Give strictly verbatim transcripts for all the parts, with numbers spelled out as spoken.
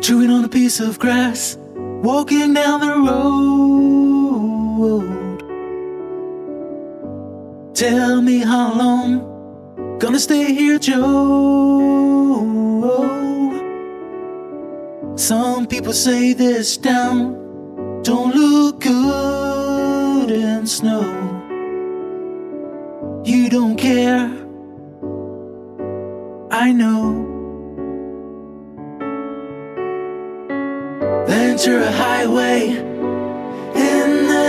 chewing on a piece of grass, walking down the road. Tell me how long, gonna stay here, Joe. Some people say this town don't look good in snow. You don't care, I know. Ventura Highway in the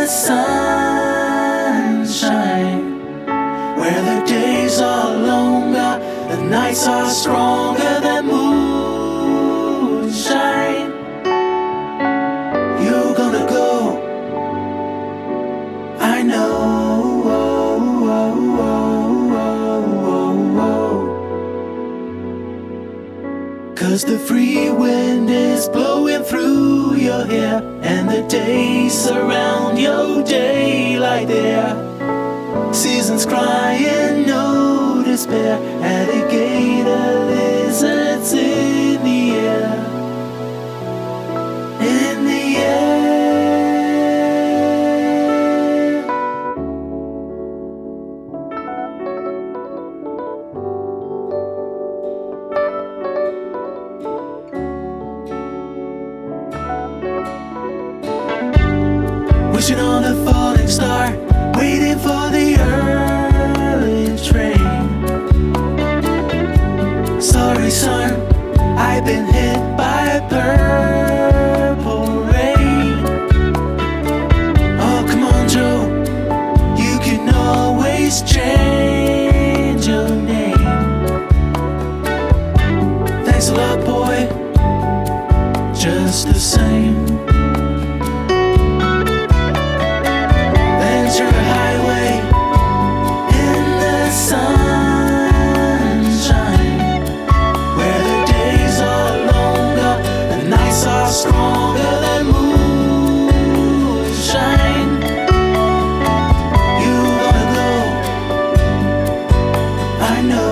sunshine, where the days are longer, the nights are stronger than moonshine. You're gonna go, I know. Cause the free wind is blowing through your hair, and the days surround your daylight there. Seasons crying, no despair. Alligator lizards in the air, in the air. Wishing on a falling star, waiting for the early train. Sorry son, I've been hit by purple rain. Oh come on Joe, you can always change your name. Thanks a lot boy, just the same. Highway in the sunshine, where the days are longer, the nights are stronger than moonshine. You wanna go, I know.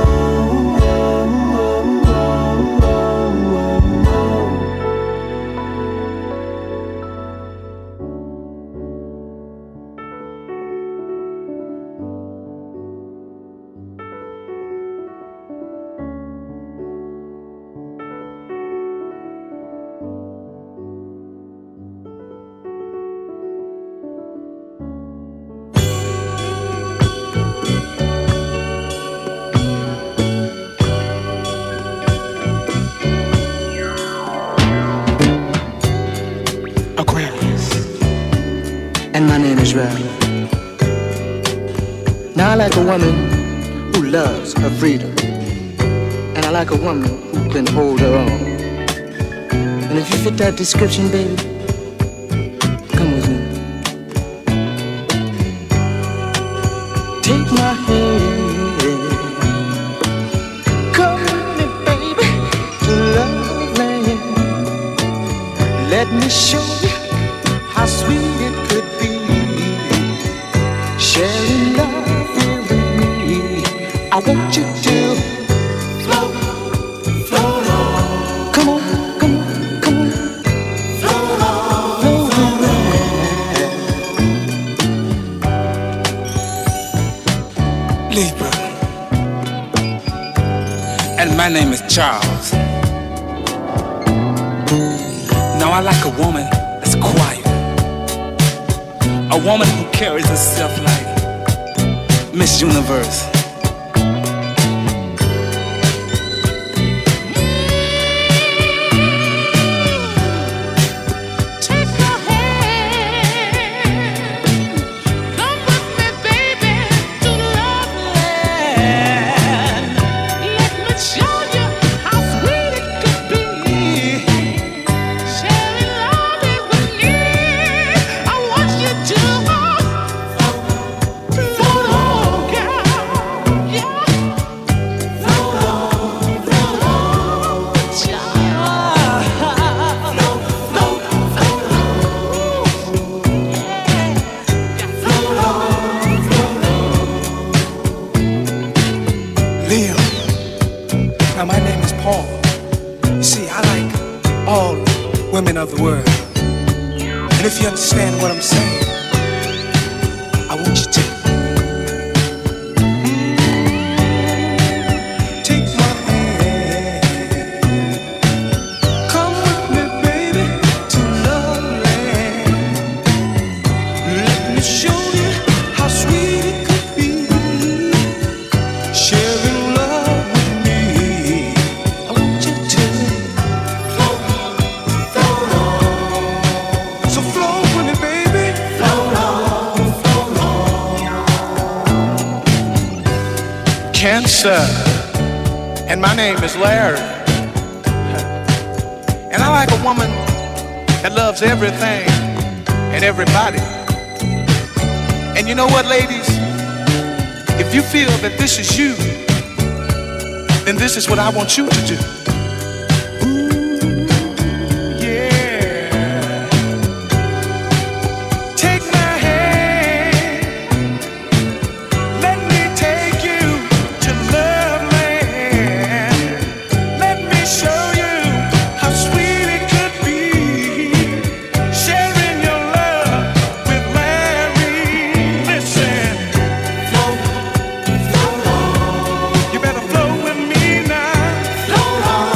And my name is Ralph. Now I like a woman who loves her freedom, and I like a woman who can hold her own. And if you fit that description, baby, come with me. Take my hand, come with me, baby, to love land. Let me show you how sweet it could be, sharing love here with me. I want you to float, float on. Come on, come on, come on. Float on, float on. Libra. And my name is Charles. Now I like a woman that's quiet, a woman who carries herself like Miss Universe. Float on, girl. women of the world. And if you understand what I'm saying, I want you to take my hand. Come with me, baby, to Love Land. Let me show you how sweet it could be, sharing love with me. I want you to float, float on. So float with me, baby. Float on, float on. Cancer, and my name is Larry. And I like a woman that loves everything and everybody. And you know what, ladies? If you feel that this is you, then this is what I want you to do. Ooh, yeah. Take my hand. Let me take you to Love Land. Let me show you how sweet it could be, sharing your love with Larry. Listen, float, float on. You better float with me now. Float on.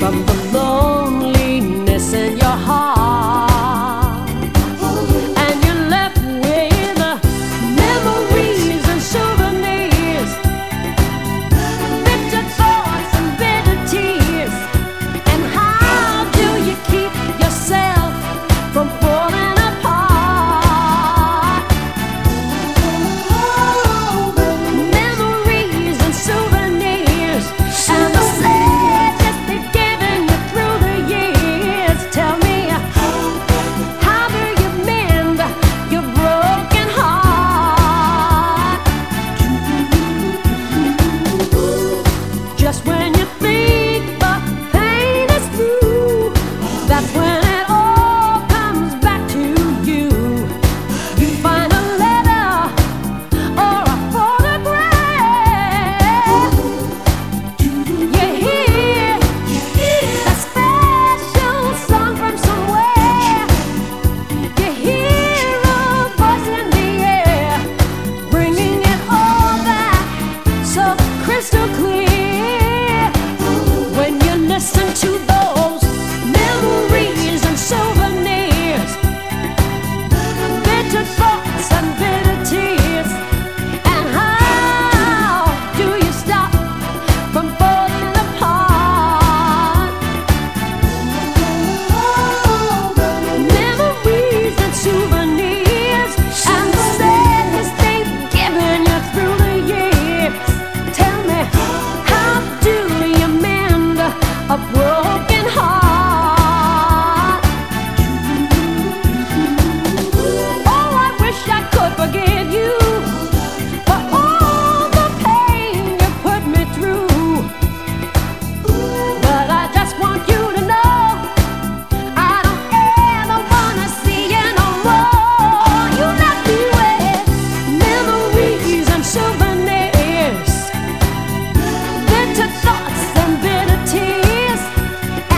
And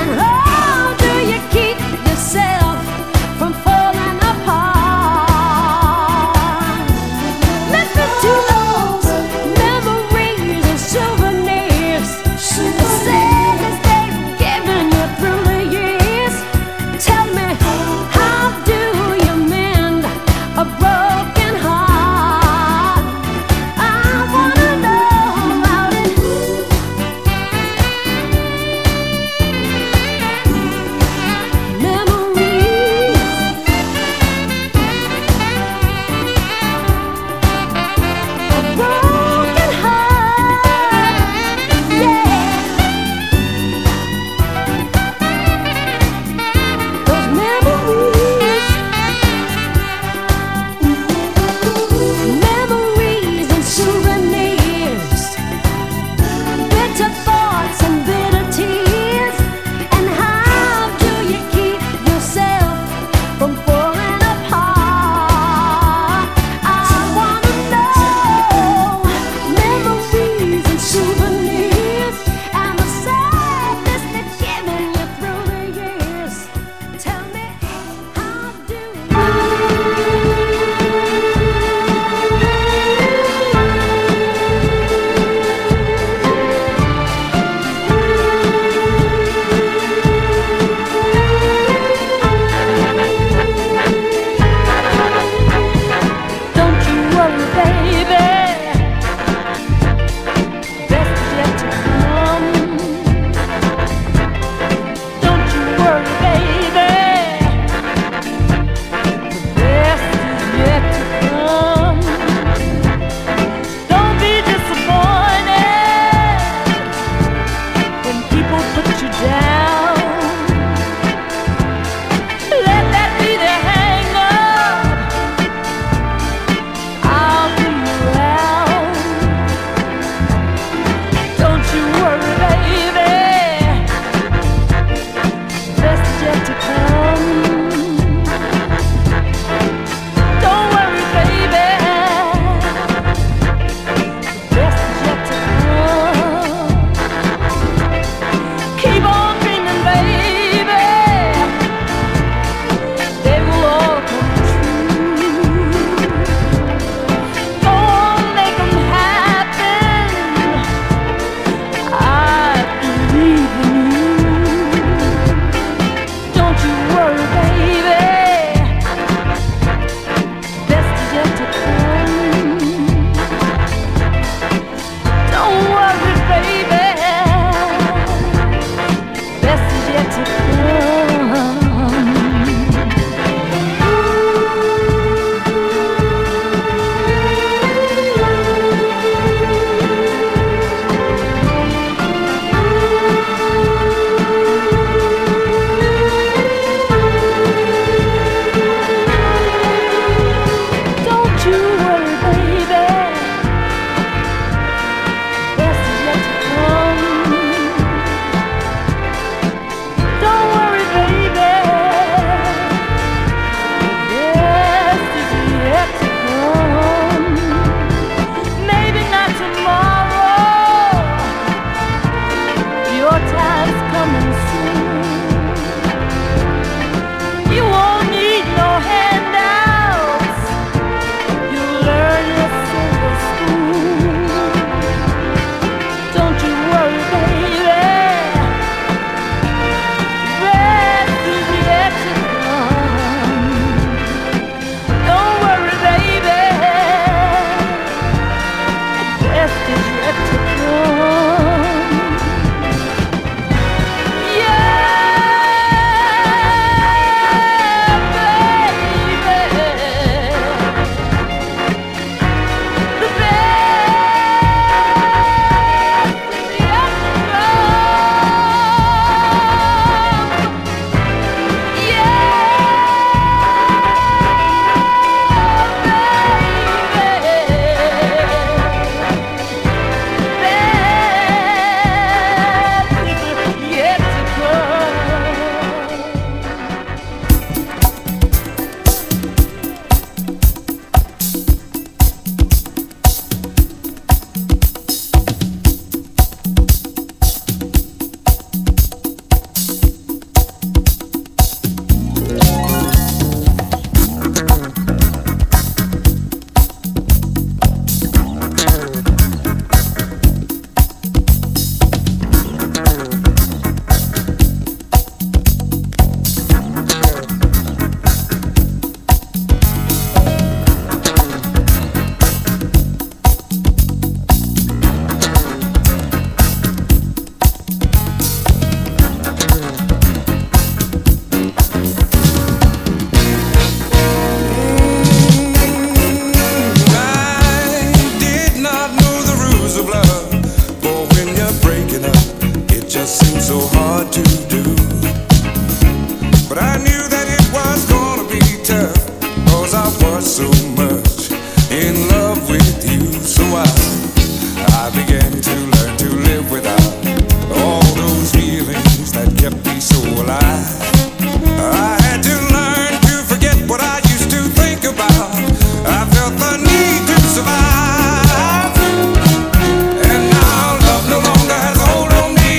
be so alive. I had to learn to forget what I used to think about. I felt the need to survive, and now love no longer has a hold on me.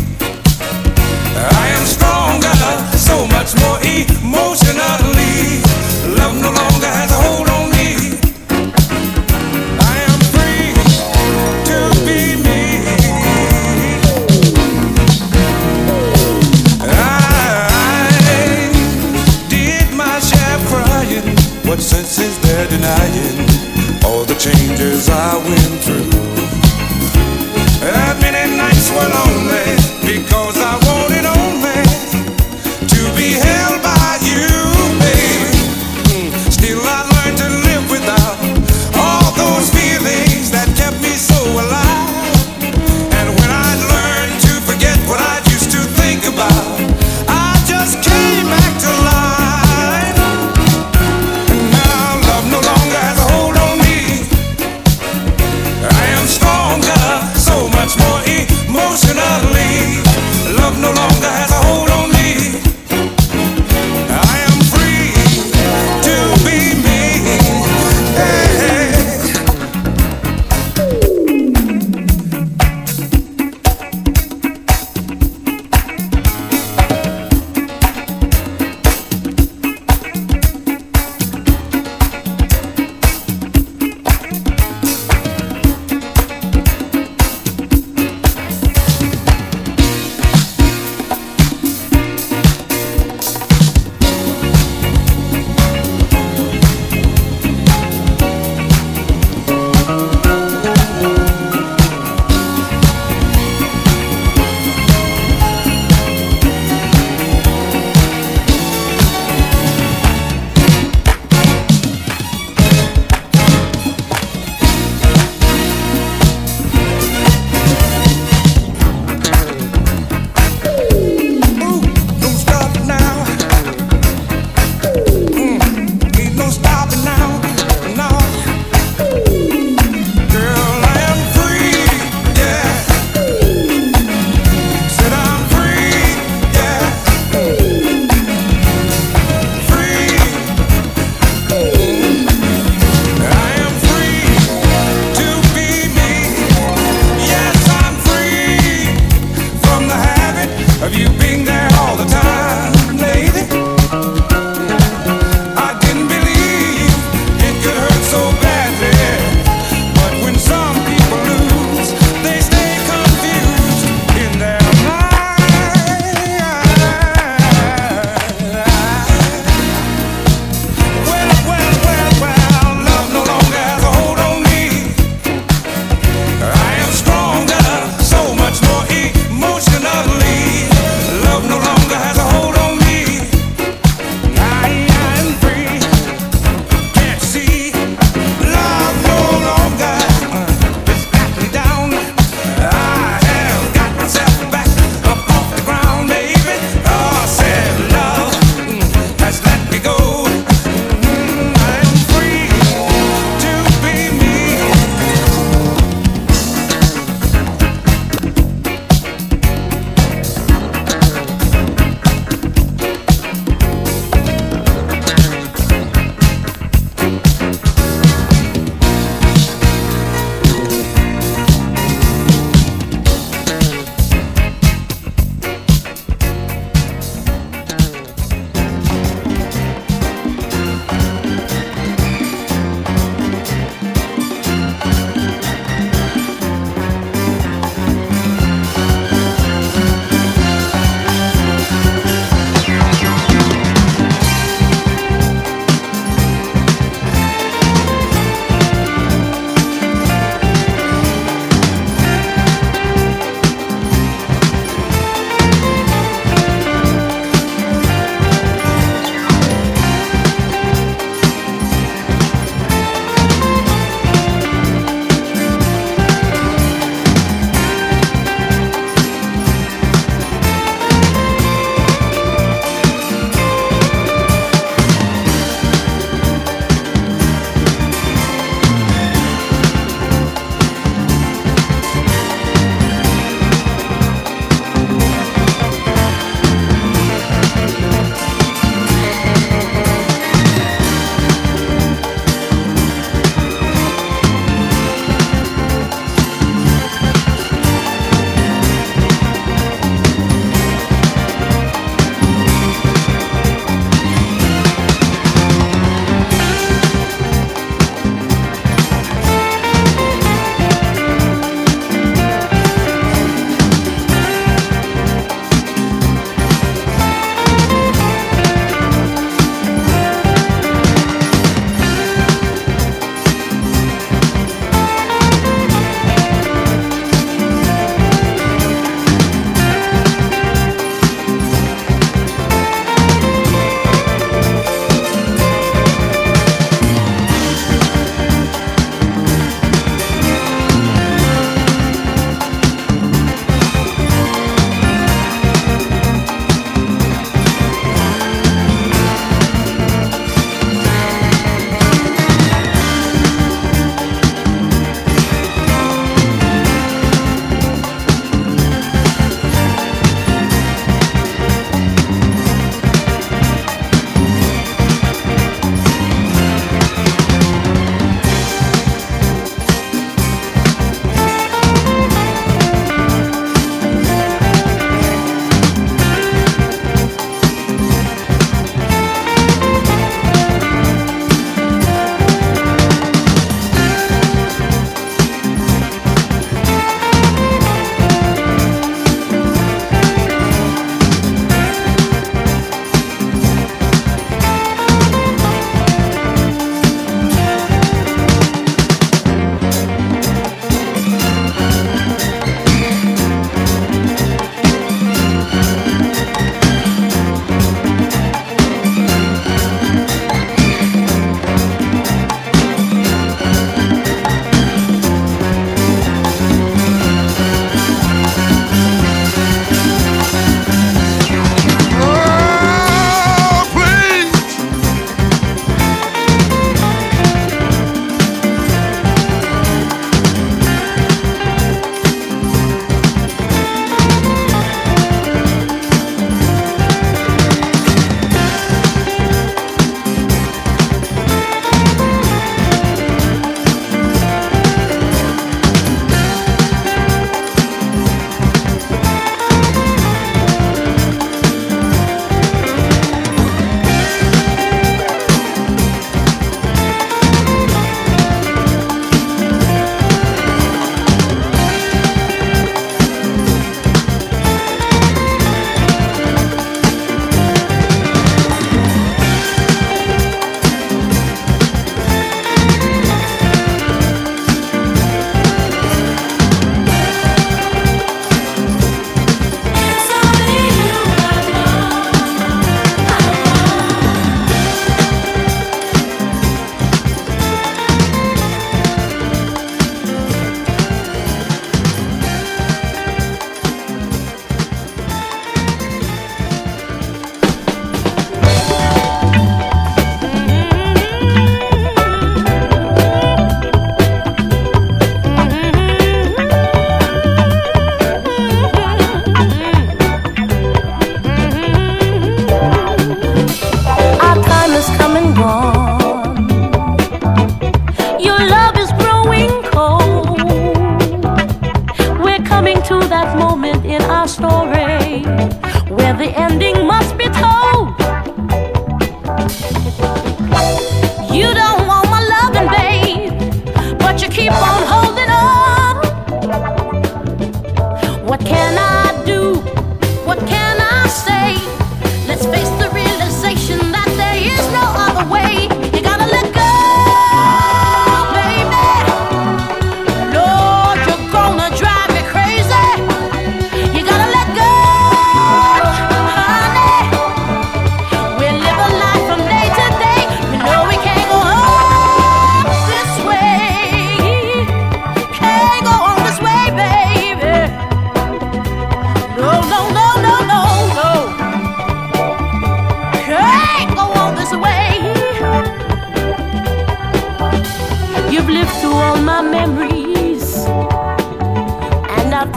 I am stronger, so much more emotionally. Love no longer has a hold on me. I am free to be me. I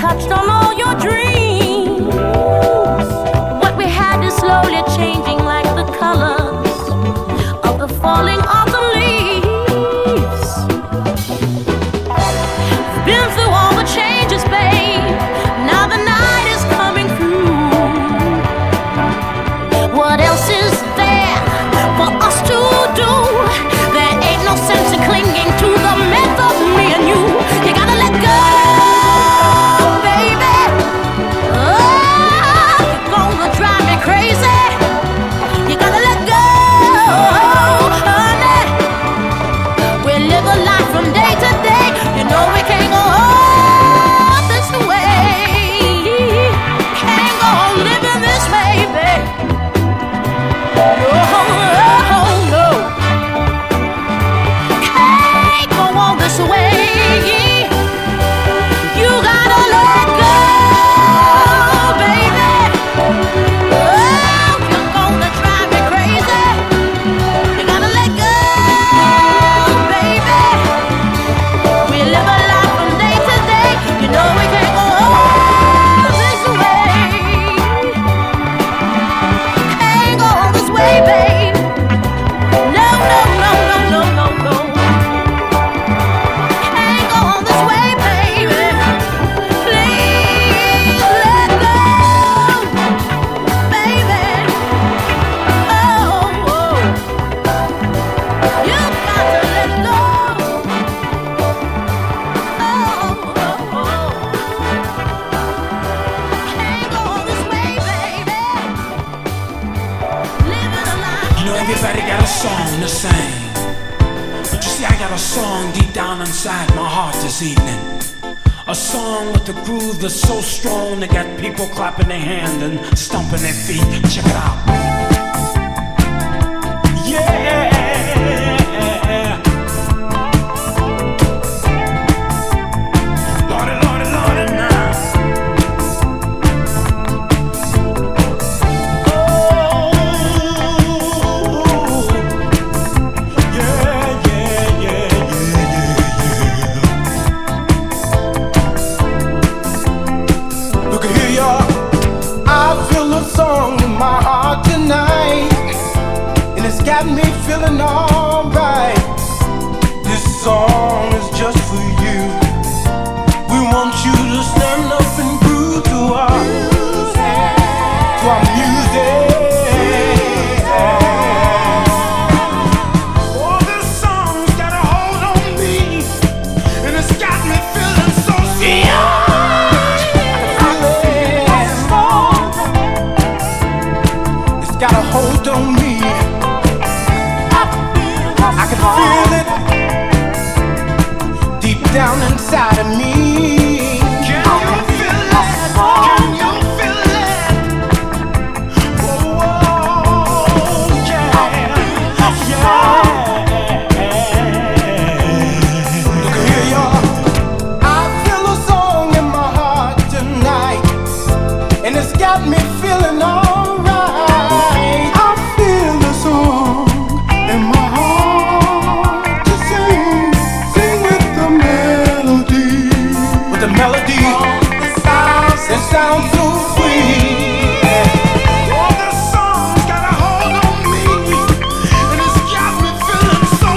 touched on all your dreams. What we had is slowly changing like the colors of the falling autumn leaves. Been through all the changes, babe. Now the night is coming through. What else is there for us to do? There ain't no sense in clinging to the myth of me and you. You gotta let go, baby. Oh, you're gonna drive me crazy. You gotta let go, honey. We live a life from day to day. You know we can't go on this way. Can't go on living this way, baby. Oh, oh, no. Can't go on this way. You gotta let go, baby. Oh, you're gonna drive me crazy. You gotta let go, baby. We live a life from day to day. You know we can't go on this way. Can't go on this way, babe. No, no, no, no, no, no, no. Can't go on this way, baby. Please let go, baby. Oh, oh. You got to let go. Oh, oh, oh. Can't go on this way, baby. Living a life. You know, everybody got a song to sing. But you see, I got a song deep down inside my heart this evening. A song with a groove that's so strong they got people clapping their hands and stomping their feet. Check it out. Yeah. Lordy, Lordy, Lordy, now. Oh, yeah, yeah, yeah, yeah, yeah, yeah. Look at here, y'all. I feel a song in my heart tonight, and it's got me feeling alright. This song is just for you. We want you to stand up and groove to our music, to our music. Oh, this song's got a hold on me, and it's got me feeling so It's got a hold on me. I can feel it deep down inside of me. Can you feel it? Can you feel it? Oh, yeah, yeah. Look at here, y'all. I feel a song in my heart tonight, and it's got me feeling alright. I feel the song in my heart to sing, sing with the melody, with the melody. It sounds so sweet. Oh, this song's got a hold on me, and it's got me feeling so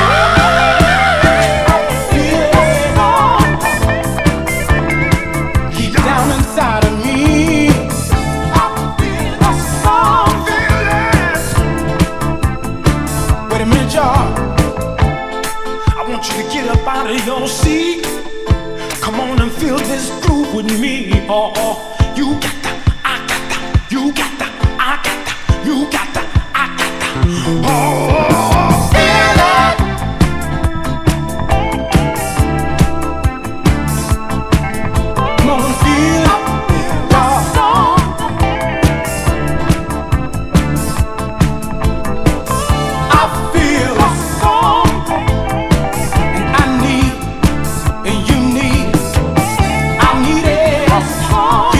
Deep down inside of me, I feel a song. Wait a minute, y'all. I want you to get up out of your seat. Come on and feel this groove with me. Oh, oh. You got that, I got that. You got that, I got that. You got that, I got that. Oh, oh, oh. Feel it. Come on, feel it. I feel a song, and I need, and you need, I need it. A song.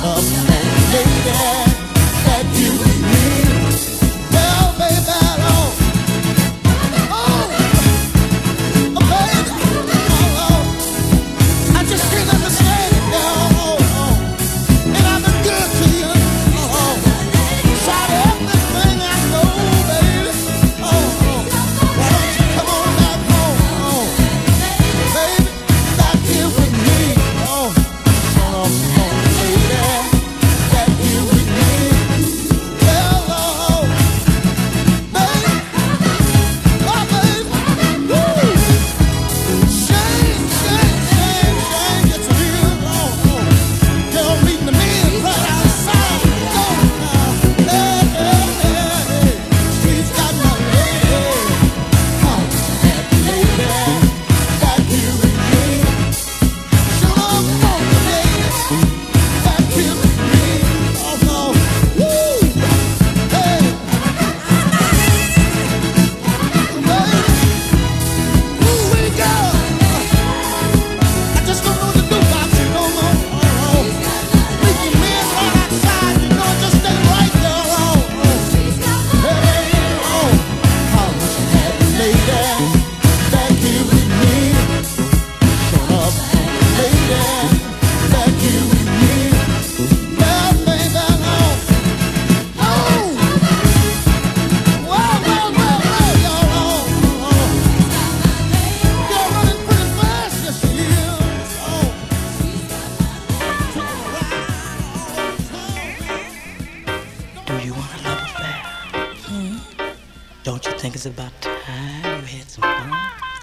Don't you think it's about time you had some fun?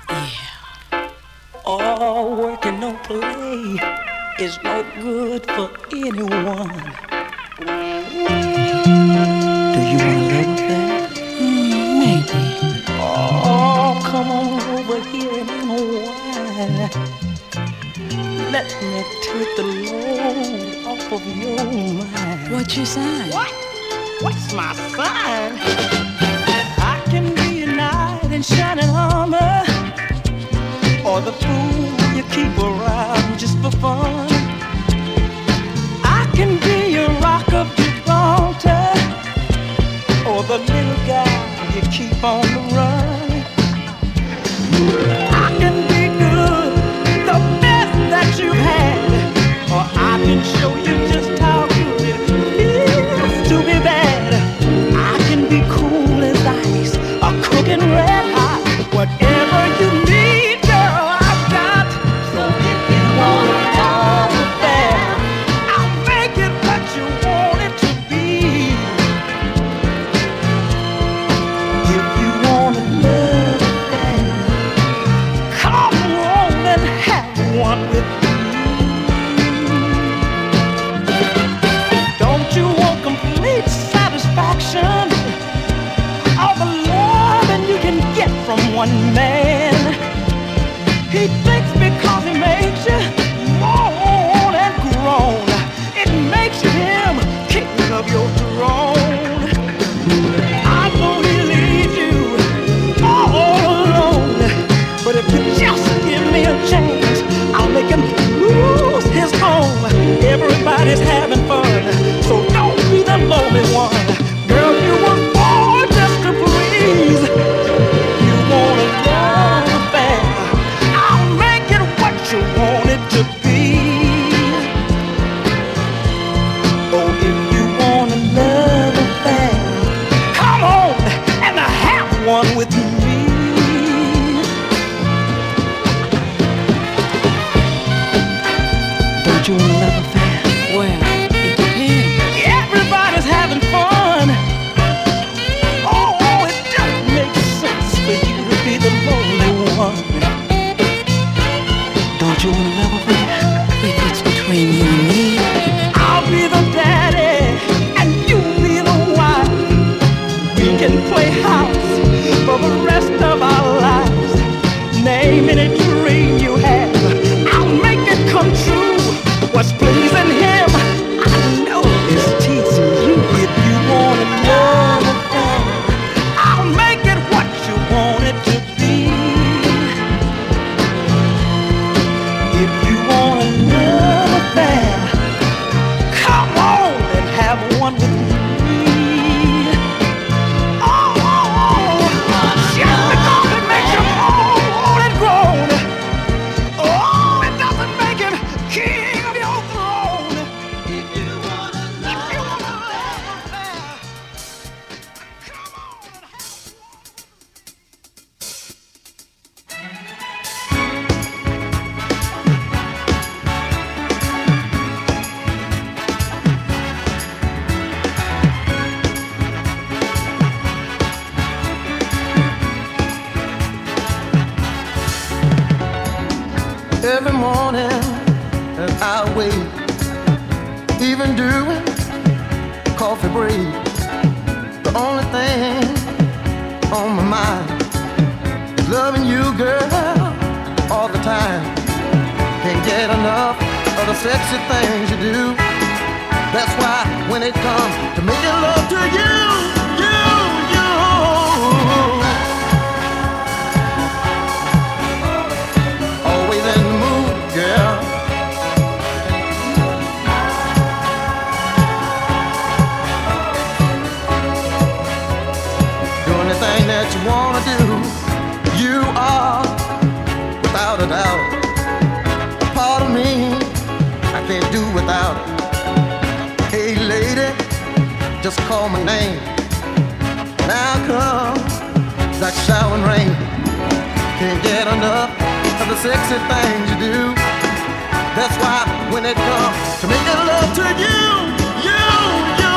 Yeah. All work and no play is no good for anyone. Do you want a little bit? Mm, maybe. Oh, come on over here and unwind. Let me take the load off of your mind. What's your sign? What? What's my sign? I can be a knight in shining armor, or the fool you keep around just for fun. I can be a rock of Gibraltar, or the little guy you keep on the run. I can be good, the best that you've had, or I can show you just how good it feels to be bad. I can be cool as ice, or cooking red hot, whatever you need, girl, I've got. So if you want it all fair, I'll make it what you want it to be. If you want to love affair, come on and have one with me. Don't you want complete satisfaction? All the loving you can get from one man. He thinks because he makes you moan and groan, it makes you him king of your throne. I know he leaves you all alone, but if you just give me a chance, I'll make him lose his home. Everybody's having fun, so don't be the lonely one. Girl, you were born just to please. You want a love affair, I'll make it what you want it to be. Oh, if you want a love affair, come on and have one with me. Don't you want a love affair? Well, it depends. Everybody's having fun. Oh, it just makes sense for you to be the lonely one. Don't you want a love affair? If it's between you and me, I'll be the daddy and you be the wife. We can play house for the rest of our lives. Name any dream you have, I'll make it come true. What's pleasing him, I know is teasing you. If you want a love affair, I'll make it what you want it to be. If you want a love affair, come every morning and I wait, even doing coffee break. The only thing on my mind is loving you, girl, all the time. Can't get enough of the sexy things you do. That's why when it comes to making love to you, you, you, always in the mood, girl. Do anything that you wanna do. You are, without a doubt, a part of me I can't do without. Hey lady, just call my name. Now come that showering rain. Can't get enough of the sexy things you do. That's why when it comes to making love to you, you, you,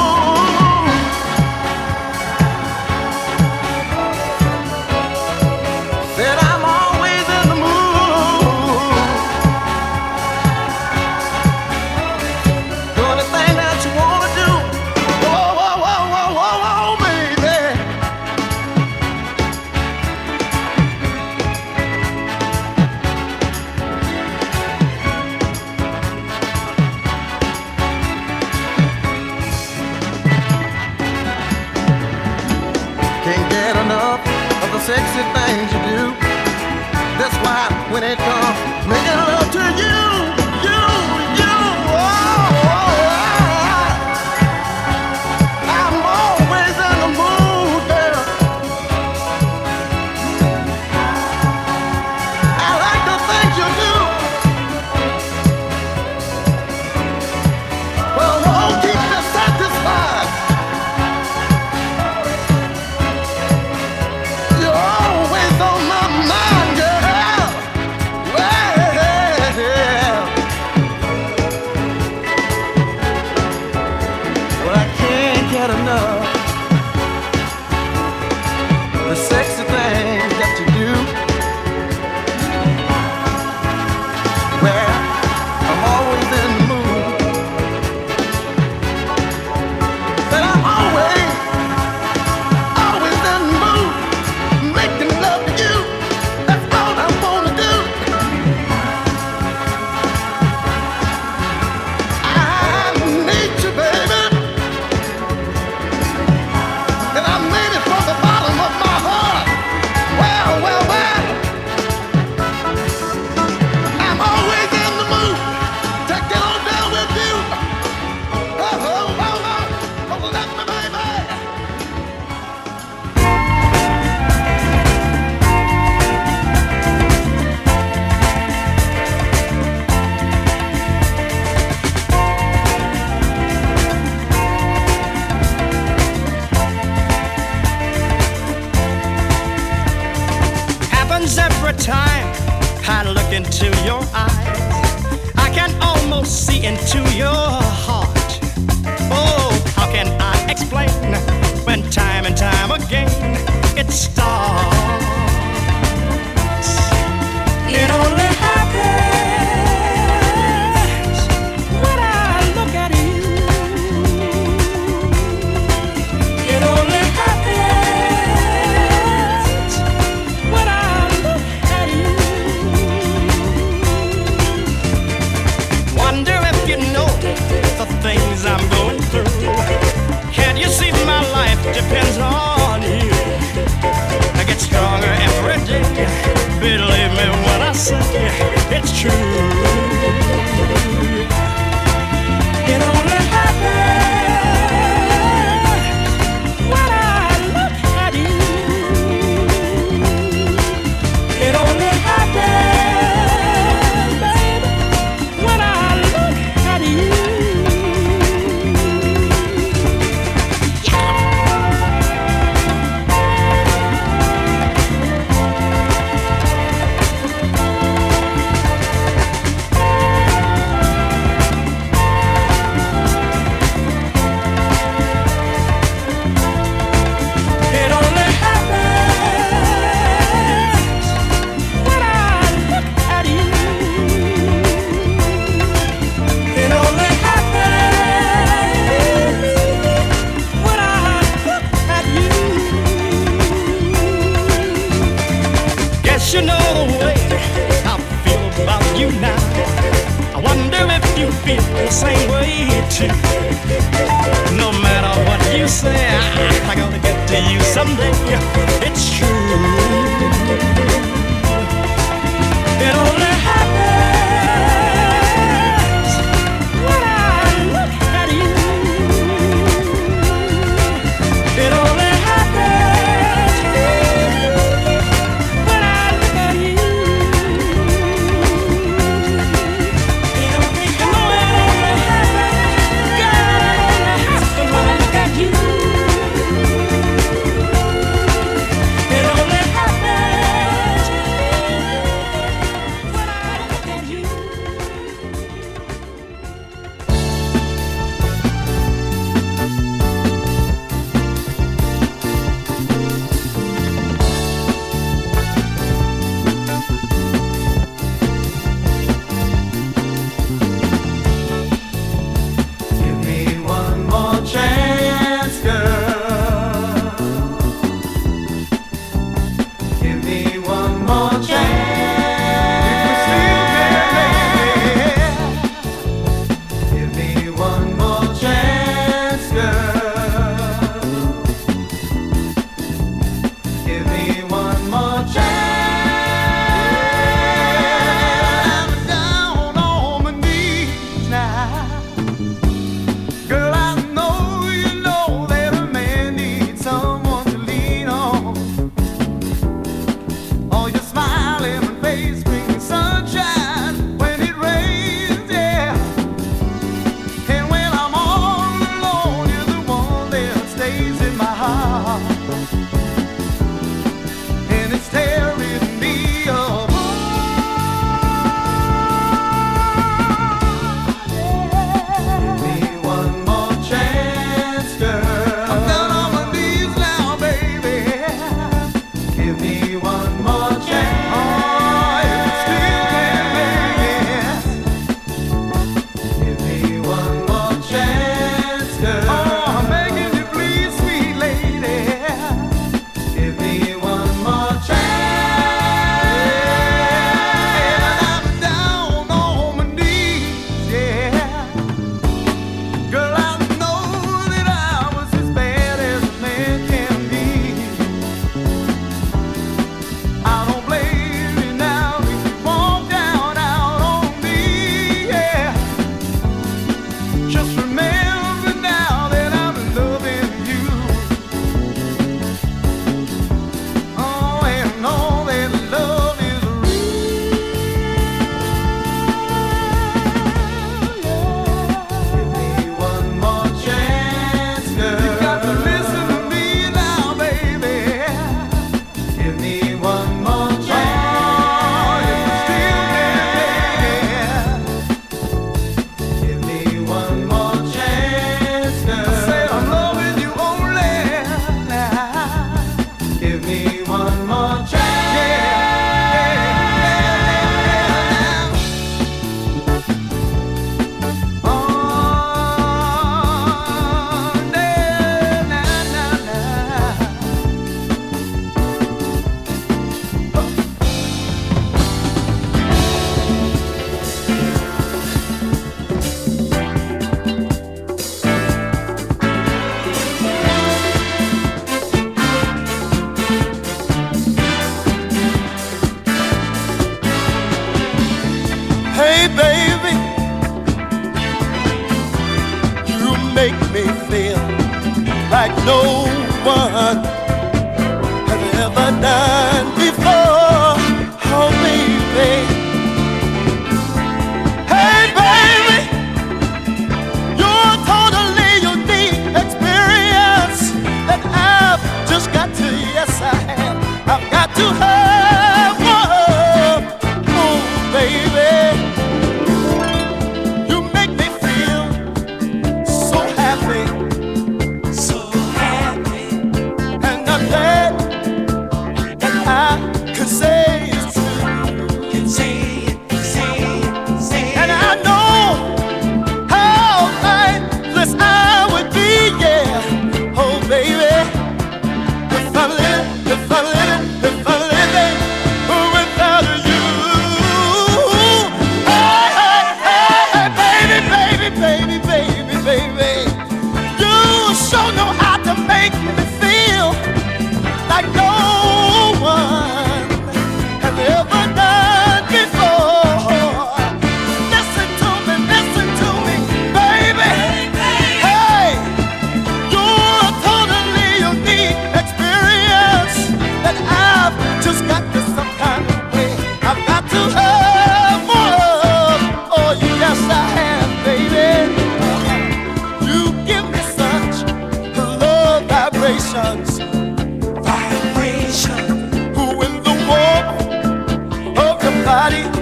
said I'm always in the mood. Do anything that you wanna do. Whoa, whoa, whoa, whoa, whoa, whoa, baby. Can't get enough of the sexy things you do. That's why when it comes making love to you, you, you, oh, oh, oh, I'm always in the mood, girl. I like the things you do. Well, won't keep me satisfied. You're always on my mind, girl. Well, well, I can't get enough of the sexy things that you do. Well, I'm always in the mood. But I'm always, always in the mood. Making love to you, that's all I wanna do. I need you, baby, and I mean it from the bottom of my heart. Well, well, well, I'm always in the mood to get on down with you. Oh, oh, oh, oh, oh, let me, baby. Happens every time I look into your eyes. I can almost see into your heart. Oh, how can I explain when time and time again it starts? It only happens when I look at you. It only happens when I look at you. Wonder if you know the things I'm going through. Can't you see my life depends on you? No matter what you say, I, I gotta get to you someday. It's true. It only happens when I look at you. It only happens when I look at you. It only, you know it only happens, God, it only happens when I look at you. It only happens when I look at you. Give me one more chance, girl. Give me one more chance. Give me one more chance, girl. Give me one more chance. I'm down on my knees now. Girl, I know you know that a man needs someone to lean on. Oh, your smiling face brings sunshine when it rains, yeah. And when I'm all alone, you're the one that stays in my heart. And it's tearing me apart. Give me one more chance, girl. I'm down on my knees now, baby. Give me one more chance. Oh, if you still can make it. Give me one more chance, girl. Oh, I'm begging you, please, sweet lady. Give me one more chance. I'm down on my knees, yeah. Girl, I know that I was as bad as a man can be. I don't blame you now if you walk down out on me, yeah. Just remember now that I'm loving you. Oh, and know that love is real. Give me one more chance, girl. You got to listen to me now, baby. Give me one more chance. If you still can make it. Give me one more chance, girl. I say I'm loving you only now. Give me one more chance. Oh, na, na, na, na. Hey baby, you make me feel like no one has ever done before. Oh baby, hey baby, you're totally unique experience that I've just got to, yes I have, I've got to have one. Oh baby, you make me feel so happy, so happy, and I'm glad that I vibrations, vibration. Who in the warmth of your body?